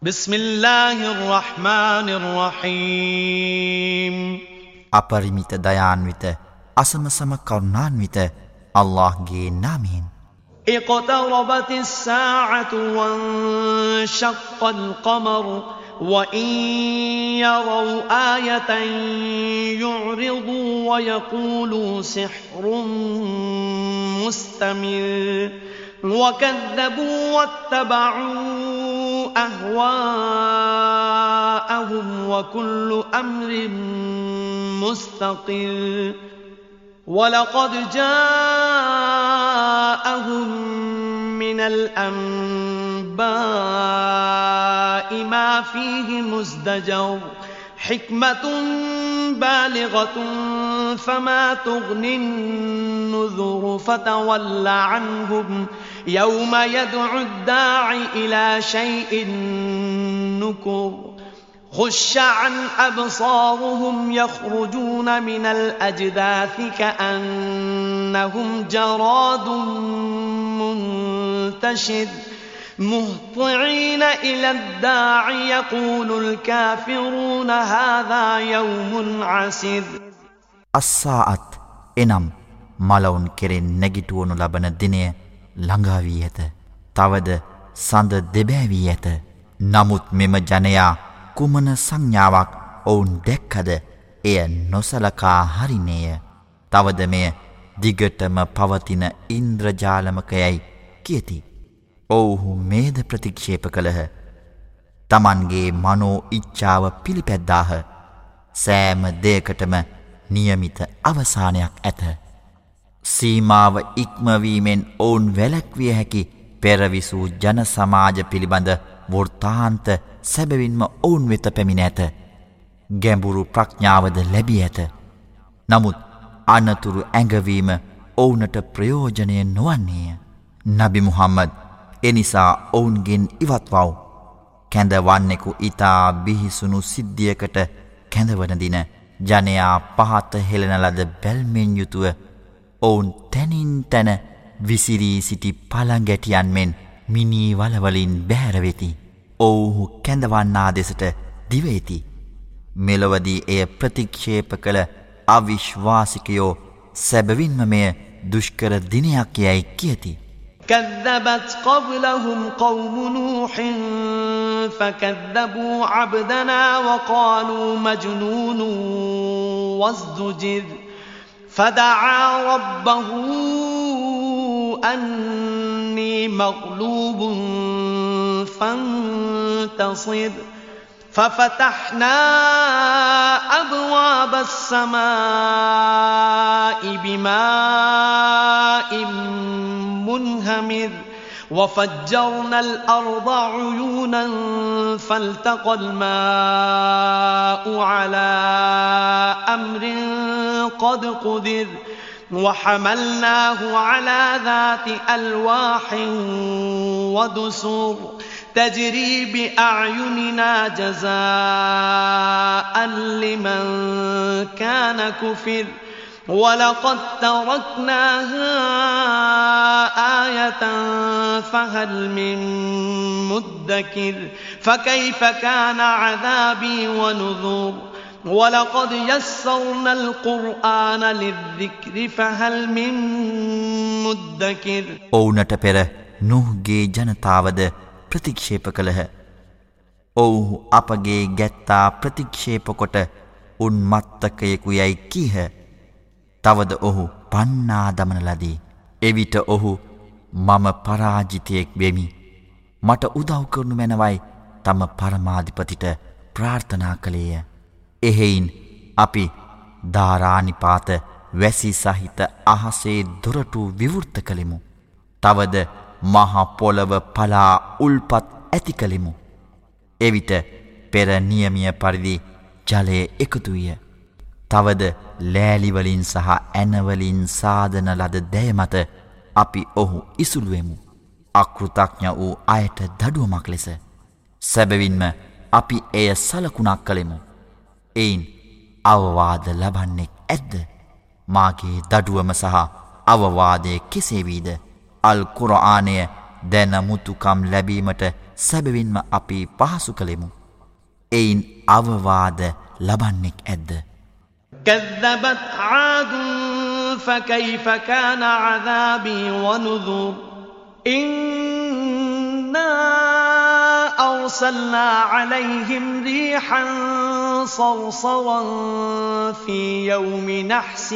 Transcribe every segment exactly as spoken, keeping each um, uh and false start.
بسم الله الرحمن الرحيم අපරිමිත දයාන්විත අසමසම කරුණාන්විත අල්ලාහ්ගේ නාමයෙන් اقتربت الساعة وانشق القمر وإن يروا آية يعرضوا ويقولوا سحر مستمر وكذبوا واتبعوا أهواءهم وكل أمر مستقر ولقد جاءهم من الأنباء ما فيه مزدجر حكمة بالغة فما تغني النذر فتول عنهم يوم يدعو الداع إلى شيء نكر خش عن أبصارهم يخرجون من الأجداث كأنهم جراد منتشر مهطعين إلى الداع يقول الكافرون هذا يوم عسر අස්සාඅත් එනම් මලවුන් කෙරෙන් නැගිටවනු ලබන දිනය ළඟා වී ඇත. තවද සඳ දෙබෑ ඇත. නමුත් මෙම ජනයා කුමන සංඥාවක් ඔවුන් දැක්කද එය නොසලකා හරිනේය. තවද මෙය දිගටම පවතින ඉන්ද්‍රජාලමකයයි කියති. ඔවුහු මේද ප්‍රතික්ෂේප කළහ. තමන්ගේ මනෝ ඉච්ඡාව පිළිපැද්දාහ. සෑම දෙයකටම නියමිත අවසානයක් ඇත. සීමාව ඉක්මවීමෙන් ඔවුන් වැළැක්විය හැකි පෙරවිසූ ජන සමාජ පිළිබඳ වෘත්තාන්ත සැබවින්ම ඔවුන් වෙත පැමිණ ඇත. ගැඹුරු ප්‍රඥාවද ලැබී ඇත. නමුත් අනතුරු ඇඟවීම ඔවුනට ප්‍රයෝජනය නොවන්නේය. නබි මුහම්මද් එනිසා ඔවුන්ගෙන් ඉවත්වව්. කැඳවන්නෙකු ඉතා බිහිසුණු සිද්ධියකට කැඳවන දින ජනයා පහත හෙළන ලද බැල්මෙන් යුතුව ඔවුන් තැනින් තැන විසිරී සිටි පළඟැටියන් මෙන් මිනී වලවලින් බැහැරවෙති. ඔවුහු කැඳවන්නා දෙසට දිවේති. මෙලොවදී එය ප්‍රතික්ෂේප කළ අවිශ්වාසිකයෝ සැබවින්ම මෙය දුෂ්කර දිනයක් යැයි කියති. كذبت قبلهم قوم نوح فكذبوا عبدنا وقالوا مجنون وازدجر فدعا ربه أني مغلوب فانتصر ففتحنا أبواب السماء بماء منهمر وفجرنا الأرض عيونا فالتقى الماء على أمر قد قدر وحملناه على ذات ألواح ودسر تجري بأعيننا جزاء لمن كان كفر ولقد تركناها آية فهل من مدكر فكيف كان عذابي ونذر ولقد يسرنا القرآن للذكر فهل من مدكر ඔවුනට පෙර නුහ්ගේ ජනතාවද ප්‍රතික්ෂේප කළහ. ඔවුහු අපගේ ගැත්තා ප්‍රතික්ෂේප කොට උන්මත්තකයෙකු යයි කීහ. තවද ඔහු පන්නා දමන ලදී. එවිට ඔහු මම පරාජිතයෙක් වෙමි. මට උදව් කරනු මැනවයි තම පරමාධිපතිට ප්‍රාර්ථනා කළේය. එහෙයින් අපි ධාරානිපාත වැසි සහිත අහසේ දොරටු විවෘත කළෙමු. තවද මහ පොළව පලා උල්පත් ඇති කළෙමු. එවිට පෙර නියමිය පරිදි ජලය එකතු විය. තවද ලෑලිවලින් සහ ඇනවලින් සාදන ලද දැය මත අපි ඔහු ඉසුළුවෙමු. අකෘතඥ වූ අයට දඩුවමක් ලෙස. සැබවින්ම අපි එය සලකුණක් කළෙමු. එයින් අවවාද ලබන්නෙක් ඇද්ද? මාගේ දඩුවම සහ අවවාදය කෙසේ වීද? අල් කුර්ආනය දැන මුතුකම් ලැබීමට සැබවින්ම අපි පහසු කළෙමු. එයින් අවවාද ලබන්නෙක් ඇද්ද? كذبت عاد فكيف كان عذابي ونذر إنا أرسلنا عليهم ريحا صرصرا في يوم نحس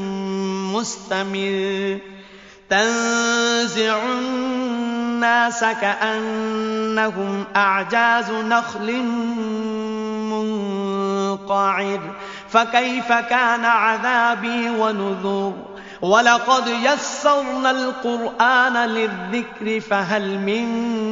مستمر تنزع الناس كأنهم أعجاز نخل منقعر فكيف كان عذابي ونذر ولقد يسرنا القرآن للذكر فهل من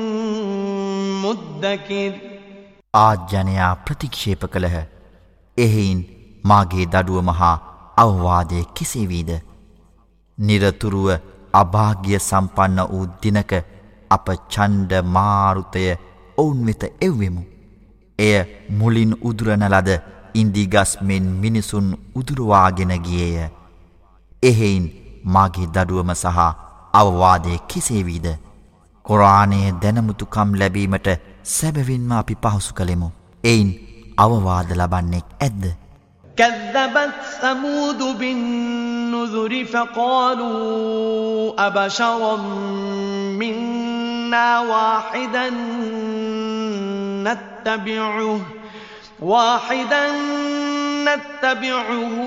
مدكر ආජ්ජනයා ප්‍රතික්ෂේප කළහ. එහෙයින් මාගේ දඩුව මහා අවවාදය කෙසේ වීද? නිරතුරුව අභාග්‍ය සම්පන්න වූ දිනක අප ඡණ්ඩ මාරුතය ඔවුන් වෙත එව්වෙමු. එය මුලින් උදුරන ලද ඉන්දිගස් මෙන් මිනිසුන් උදුරවාගෙන ගියේය. එහෙයින් මාගේ දඩුවම සහ අවවාදය කෙසේ වීද? කුර්ආනයේ දැනුමුතුකම් ලැබීමට සැබවින්ම අපි පහසු කළෙමු. එයින් අවවාද ලබන්නෙක් ඇද්ද? كذبت ثمود بالنذر فقالوا أبشرا منا واحدا نتبعه واحدا نتبعه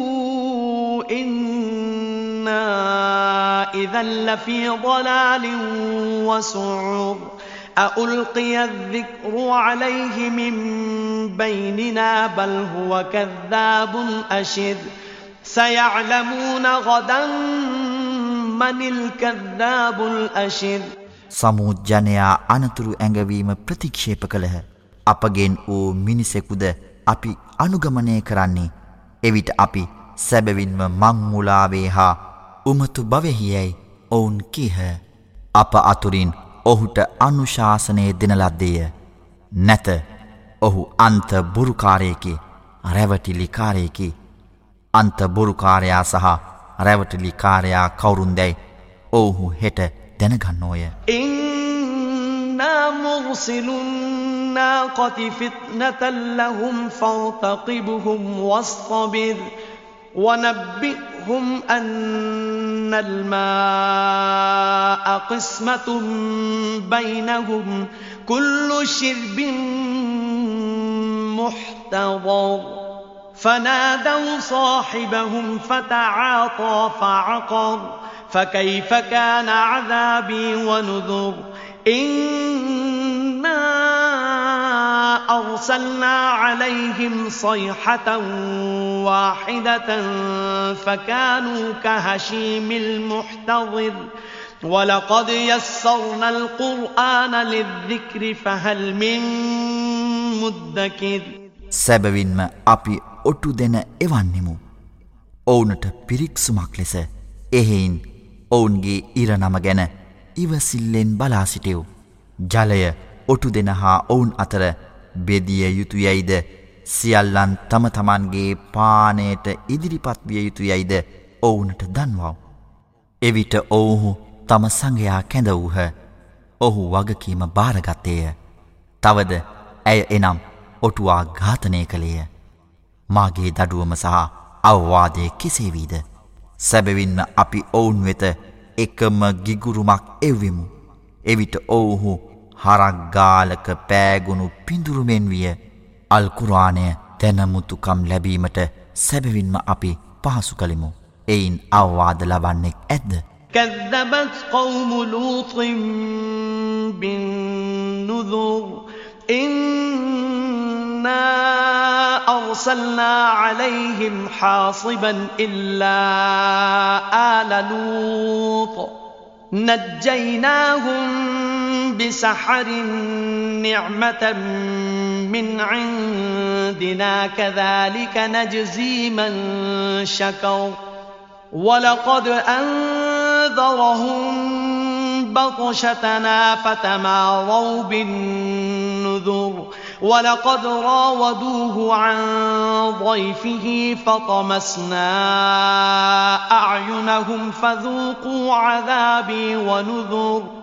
إنا إذا لفي ضلال وسعر أألقي الذكر عليه من بيننا بل هو كذاب أشر سيعلمون غدا من الكذاب الأشر සමූද් ජනයා අනතුරු ඇඟවීම ප්‍රතික්ෂේප කළහ. අපගෙන් වූ මිනිසෙකුද අපි අනුගමනය කරන්නේ. එවිට අපි සැබවින්ම මංමුලාවේ හා උමතු භවෙහියයි ඔවුන් කීහ. අප අතුරින් ඔහුට අනුශාසනය දෙන ලද්දේය. නැත ඔහු අන්ත බොරුකාරයෙකි, රැවටිලිකාරයෙකි. අන්ත බොරුකාරයා සහ රැවටිලිකාරයා කවුරුන්දැයි ඔවුහු හෙට දැනගන්නෝය. إنا مرسل الناقة فتنة لهم فارتقبهم واصطبر ونبئهم أن الماء قسمة بينهم كل شرب محتضر فنادوا صاحبهم فتعاطى فعقر فكيف كان عذابي ونذر إنا أرسلنا عليهم صيحة واحدة فكانوا كهشيم المحتضر ولقد يسرنا القرآن للذكر فهل من مدكر සැබවින්ම අපි ඔටු දෙන එවන්නෙමු. ඔවුනට පිරික්සුමක් ලෙස. එහෙයින් ඔවුන්ගේ ඉරනම ගැන ඉවසිල්ලෙන් බලා සිටියු. ජලය ඔටු දෙන හා ඔවුන් අතර බෙදිය යුතු යයිද, සියල්ලන් තම තමන්ගේ පානයට ඉදිරිපත් විය යුතු යයිද ඔවුනට දන්වව්. එවිට ඔවුහු තම සංඝයා කැඳ වූහ. ඔහු වගකීම බාරගත්තේය. තවද ඇය එනම් ඔටුවා ඝාතනය කළේය. මාගේ දඩුවම සහ අවවාදය කෙසේ වීද? සැබවින්ම අපි ඔවුන් වෙත එකම ගිගුරුමක් එව්වෙමු. එවිට ඔවුහු හරක්ගාලක පෑගුණු පිඳුරුමෙන් විය. අල් කුර්ආනය දැනමුතුකම් ලැබීමට සැබවින්ම අපි පහසු කළෙමු. එයින් අවවාද ලබන්නෙක් ඇද්ද? كذبت قوم لوط بالنذر إنا أرسلنا عليهم حاصبا إلا آل لوط نجيناهم بسحر نعمة من عندنا كذلك نجزي من شكر ولقد أنذرهم بطشتنا فتماروا بالنذر ولقد راودوه عن ضيفه فطمسنا أعينهم فذوقوا عذابي ونذر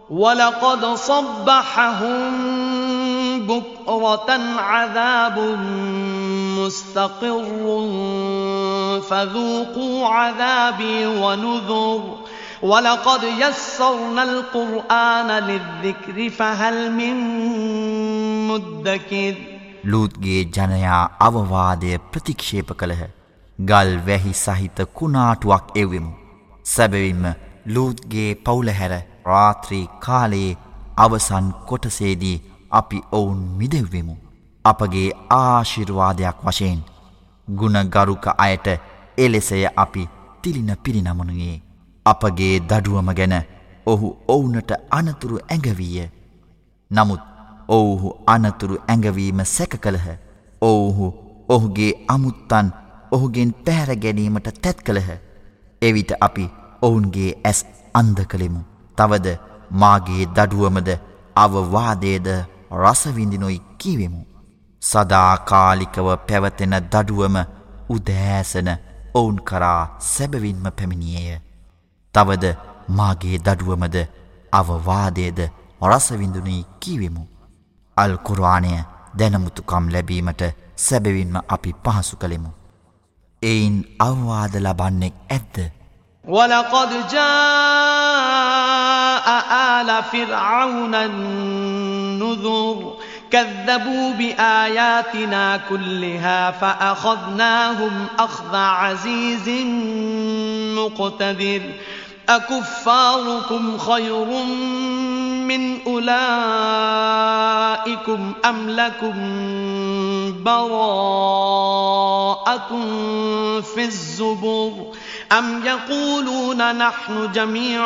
وَلَقَدْ صَبَّحَهُم بُكْرَةً عَذَابٌ مُسْتَقِرٌّ فَذُوقُوا عَذَابِي وَنُذُرِ وَلَقَدْ يَسَّرْنَا الْقُرْآنَ لِلذِّكْرِ فَهَلْ مِن مُدَّكِرٍ ලූත්ගේ ජනයා අවවාදය ප්‍රතික්ෂේප කළහ. ගල් වැහි සහිත කුණාටුවක් එවෙමු. සැබවින්ම ලූත්ගේ පවුල හැර රාත්‍රී කාලයේ අවසන් කොටසේදී අපි ඔවුන් මිදෙව්වෙමු. අපගේ ආශිර්වාදයක් වශයෙන් ගුණගරුක අයට එලෙසය අපි තිලින පිරිනමනුයේ. අපගේ දඩුවම ගැන ඔහු ඔවුනට අනතුරු ඇඟවීය. නමුත් ඔවුහු අනතුරු ඇඟවීම සැක කළහ. ඔවුහු ඔහුගේ අමුත්තන් ඔහුගෙන් පැහැර ගැනීමට තැත් කළහ. එවිට අපි ඔවුන්ගේ ඇස් අන්ධ කළෙමු. තවද මාගේ දඩුවමද අවවාදයේද රසවිඳිනොයි කීවෙමු. සදාකාලිකව පැවතෙන දඩුවම උදෑසන ඔවුන් කරා සැබවින්ම පැමිණියේය. තවද මාගේ දඩුවමද අවවාදයේද රසවිඳුනි කීවෙමු. අල් කුර්ආනය දැනමුතුකම් ලැබීමට සැබවින්ම අපි පහසු කළෙමු. එයින් අවවාද ලබන්නෙක් ඇද්ද? وَلَقَدْ جَاءَ آلَ فِرْعَوْنَ النُّذُرُ كَذَّبُوا بِآيَاتِنَا كُلِّهَا فَأَخَذْنَاهُمْ أَخْذَ عَزِيزٍ مُقْتَدِرٍ أَكُفَّارُكُمْ خَيْرٌ مِّنْ أُولَئِكُمْ أَمْ لَكُمْ بَرَاءَةٌ فِي الزُّبُرِ أَمْ يَقُولُونَ نَحْنُ جَمِيعٌ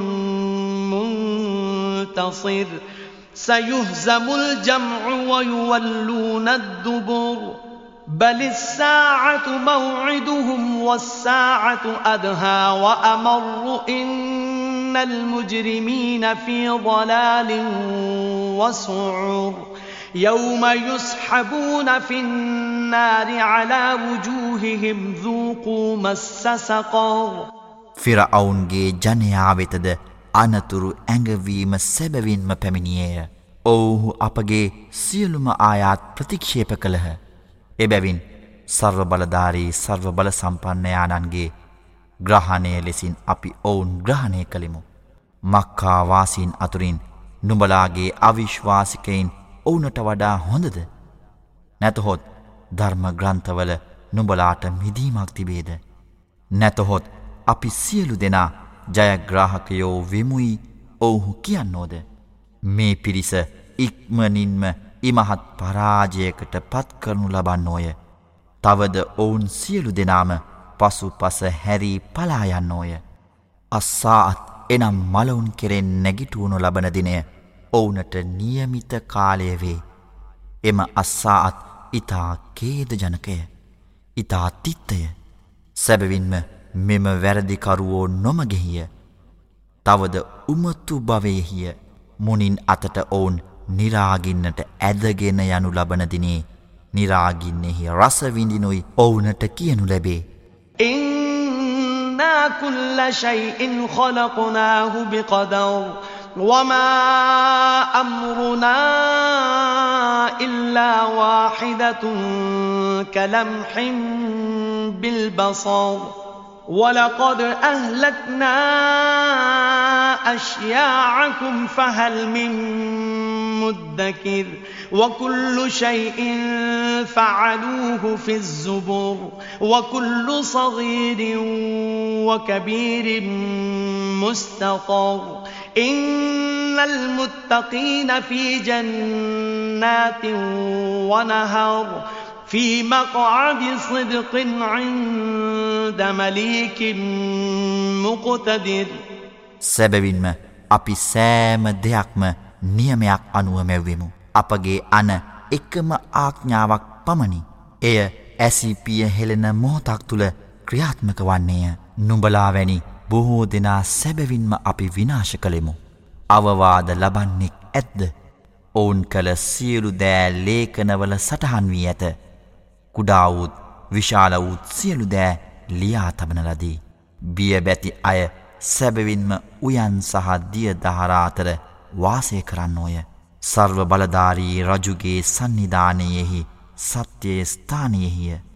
مُنْتَصِرٌ سَيُهْزَمُ الْجَمْعُ وَيُوَلُّونَ الدُّبُرَ بَلِ السَّاعَةُ مَوْعِدُهُمْ وَالسَّاعَةُ أَدْهَى وَأَمَرُّ إِنَّ الْمُجْرِمِينَ فِي ضَلَالٍ وَسُعُرٍ يَوْمَ يُسْحَبُونَ فِي النَّارِ عَلَى وُجُوهِهِمْ ذُوقُوا مَسَّ سَقَرَ ෆිරഔන්ගේ ජනයා වෙතද අනතුරු ඇඟවීම සැබවින්ම පැමිණියේය. ඔවුහු අපගේ සියලුම ආයාත් ප්‍රතික්ෂේප කළහ. එබැවින් සර්ව බලධාරී සර්ව බල සම්පන්නයාණන්ගේ ග්‍රහණය ලෙසින් අපි ඔවුන් ග්‍රහණය කළෙමු. මක්කා වාසීන් අතුරින් නුඹලාගේ අවිශ්වාසිකයින් ඔවුනට වඩා හොඳද? නැතහොත් ධර්ම ග්‍රන්ථවල නුඹලාට මිදීමක් තිබේද? නැතහොත් අපි සියලු දෙනා ජයග්‍රාහකයෝ වෙමුයි ඔවුහු කියන්නෝද? මේ පිරිස ඉක්මනින්ම ඉමහත් පරාජයකට පත් කරනු ලබන්නෝය. තවද ඔවුන් සියලු දෙනාම පසු පස හැරී පලා යන්නෝය. අස්සාත් එනම් මලවුන් කෙරෙන් නැගිටුවනු ලබන දිනය ඔවුනට නියමිත කාලය වේ. එම අස්සාත් ඉතා කේද ජනකය, ඉතා තිත්තය. සැබවින්ම මෙම වැරදිකරුවෝ නොමගෙහිය. තවද උමතු භවයෙහිය. මුනින් අතට ඔවුන් නිරාගින්නට ඇදගෙන යනු ලබන දිනේ නිරාගින්නෙහි රසවිඳිනුයි ඔවුනට කියනු ලැබේ. إِنَّا كُلَّ شَيْءٍ خَلَقْنَاهُ بِقَدَرٍ وَمَا أَمْرُنَا إِلَّا وَاحِدَةٌ كَلَمْحٍ بِالْبَصَرِ وَلَقَدْ أَهْلَكْنَا أَشْيَاعَكُمْ فَهَلْ مِن مُدَّكِرٍ وَكُلُّ شَيْءٍ فَعَلُوهُ فِي الزُّبُرِ وَكُلُّ صَغِيرٍ وَكَبِيرٍ مُسْتَطَرٍ إِنَّ الْمُتَّقِينَ فِي جَنَّاتٍ وَنَهَرٍ في مقعد صدق عند مليك مقتدر සැබවින්ම අපි සෑම දෙයක්ම නියමයක් අනුව මැව්වෙමු. අපගේ අන එකම ආඥාවක් පමණි. එය ඇසිපිය හෙළෙන මොහොතක් තුල ක්‍රියාත්මක වන්නේය. නුඹලා වැනි බොහෝ දෙනා සැබවින්ම අපි විනාශ කළෙමු. අවවාද ලබන්නෙක් ඇද්ද? ඔවුන් කළ සියලු දෑ ලේඛනවල සටහන් වී ඇත. කුඩා වූත් විශාල වූත් සියලු දෑ ලියා තබන ලදී. බිය බැති අය සැබවින්ම උයන් සහ දිය දහරා අතර වාසය කරන්නෝය. සර්ව බලධාරී රජුගේ සන්නිධානයෙහි සත්‍යයේ ස්ථානයෙහිය.